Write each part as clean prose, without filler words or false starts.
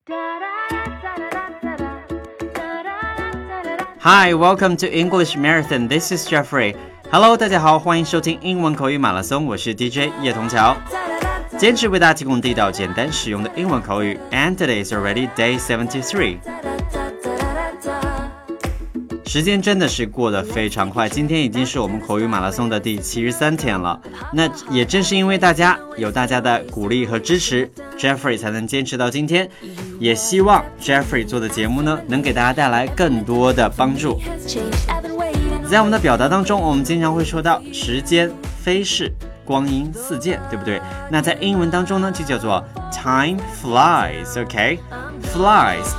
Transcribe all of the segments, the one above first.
Hi, welcome to English Marathon. This is Jeffrey. Hello, 大家好，欢迎收听英文口语马拉松，我是 DJ 叶童桥。坚持为大家提供地道、简单、实用的英文口语。And today is already day 73. 时间真的是过得非常快，今天已经是我们口语马拉松的第73天了。那也正是因为有大家的鼓励和支持 Jeffrey 才能坚持到今天，也希望 Jeffrey 做的节目呢能给大家带来更多的帮助。在我们的表达当中，我们经常会说到时间飞逝，光阴似箭，对不对？那在英文当中呢就叫做 time flies, OK? Flies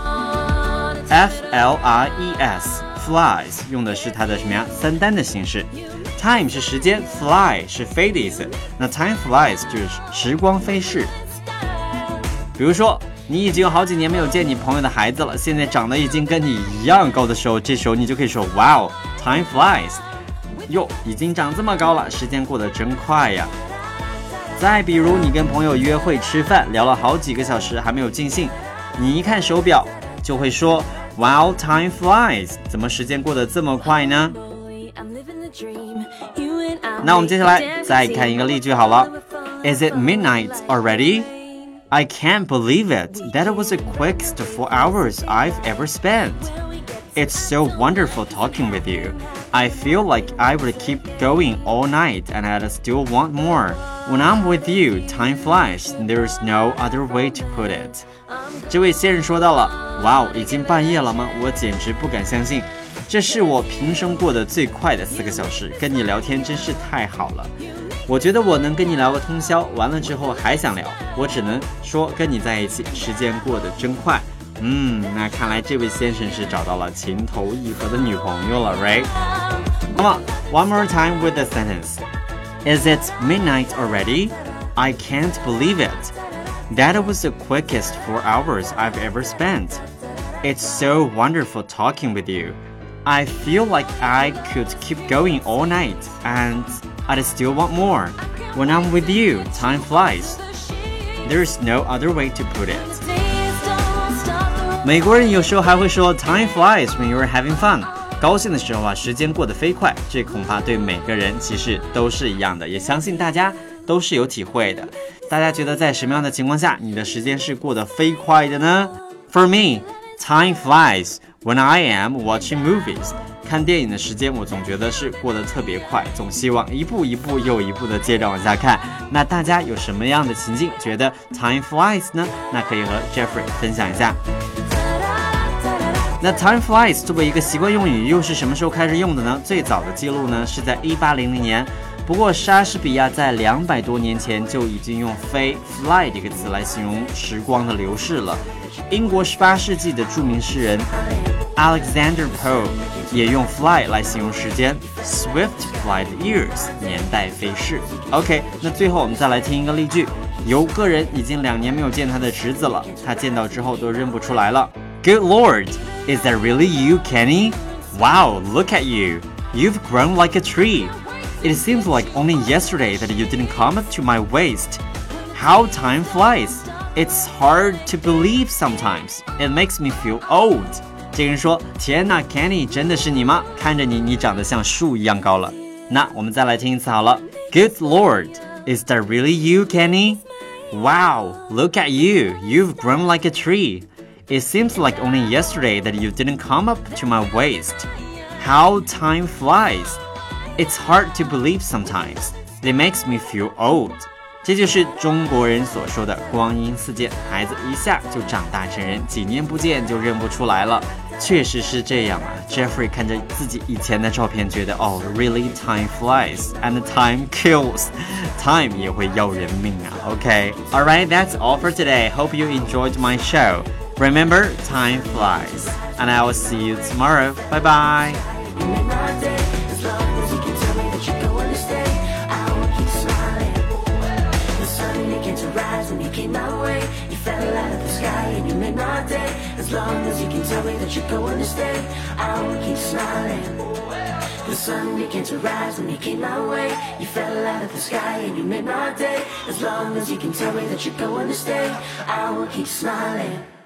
F-L-I-E-S Flies 用的是它的什么呀？三单的形式。Time 是时间， fly 是飞的意思。那 time flies 就是时光飞逝。比如说你已经有好几年没有见你朋友的孩子了，现在长得已经跟你一样高的时候，这时候你就可以说 Wow, time flies 哟，已经长这么高了，时间过得真快呀。再比如你跟朋友约会吃饭，聊了好几个小时还没有尽兴，你一看手表就会说Wow, time flies 怎么时间过得这么快呢？那我们接下来再看一个例句好了。 Is it midnight already? I can't believe it. That was the quickest 4 hours I've ever spent. It's so wonderful talking with you. I feel like I would keep going all night and I'd still want more. When I'm with you, time flies. There's no other way to put it. 这位先生说到了，哇，已经半夜了吗？我简直不敢相信，这是我平生过得最快的4个小时，跟你聊天真是太好了。我觉得我能跟你聊个通宵，完了之后还想聊，我只能说跟你在一起，时间过得真快。那看来这位先生是找到了情投意合的女朋友了 ，right？ 那么 one more time with the sentence. Is it midnight already? I can't believe it.That was the quickest 4 hours I've ever spent. It's so wonderful talking with you. I feel like I could keep going all night, and I'd still want more. When I'm with you, time flies. There's no other way to put it. 美国人有时候还会说 time flies when you're having fun. 高兴的时候时间过得飞快，这恐怕对每个人其实都是一样的，也相信大家都是有体会的。大家觉得在什么样的情况下你的时间是过得飞快的呢？ For me, time flies when I am watching movies. 看电影的时间我总觉得是过得特别快，总希望一步一步又一步的接着往下看。那大家有什么样的情境觉得 time flies 呢？那可以和 Jeffrey 分享一下。那 time flies 作为一个习惯用语，又是什么时候开始用的呢？最早的记录呢是在1800年。不过莎士比亚在200多年前就已经用飞 fly 这个词来形容时光的流逝了。英国18世纪的著名诗人 Alexander Pope 也用 fly 来形容时间 Swift fly the years 年代飞逝。 OK， 那最后我们再来听一个例句。有个人已经2年没有见他的侄子了，他见到之后都认不出来了。 Good Lord, is that really you, Kenny? Wow, look at you. You've grown like a tree.It seems like only yesterday that you didn't come up to my waist. How time flies. It's hard to believe sometimes. It makes me feel old. 这个人说，天哪 Kenny 真的是你吗？看着你长得像树一样高了。那我们再来听一次好了。 Good Lord, is that really you, Kenny? Wow, look at you. You've grown like a tree. It seems like only yesterday that you didn't come up to my waist. How time flies.It's hard to believe sometimes. It makes me feel old. 这就是中国人所说的光阴似箭，孩子一下就长大成人，几年不见就认不出来了。确实是这样啊。Jeffrey 看着自己以前的照片觉得really time flies and time kills. Time 也会要人命啊。Okay, alright, that's all for today. Hope you enjoyed my show. Remember, time flies. And I will see you tomorrow. Bye bye. As long as you can tell me that you're going to stay, I will keep smiling. The sun began to rise when you came my way. You fell out of the sky and you made my day. As long as you can tell me that you're going to stay, I will keep smiling.